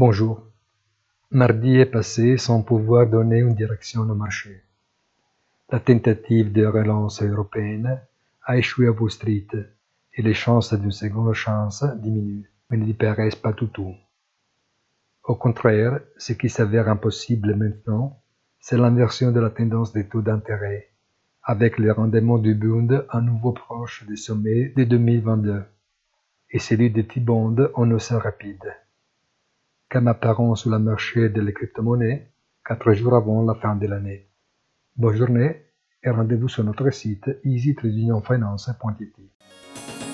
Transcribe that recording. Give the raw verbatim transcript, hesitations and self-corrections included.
Bonjour. Mardi est passé sans pouvoir donner une direction au marché. La tentative de relance européenne a échoué à Wall Street et les chances d'une seconde chance diminuent, mais ne disparaissent pas du tout. Au contraire, ce qui s'avère impossible maintenant, c'est l'inversion de la tendance des taux d'intérêt, avec le rendement du Bund à nouveau proche des sommets de deux mille vingt-deux et celui des T-bonds en hausse rapide, comme apparent sur le marché de la crypto-monnaie quatre jours avant la fin de l'année. Bonne journée et rendez-vous sur notre site easy trading finance point i t.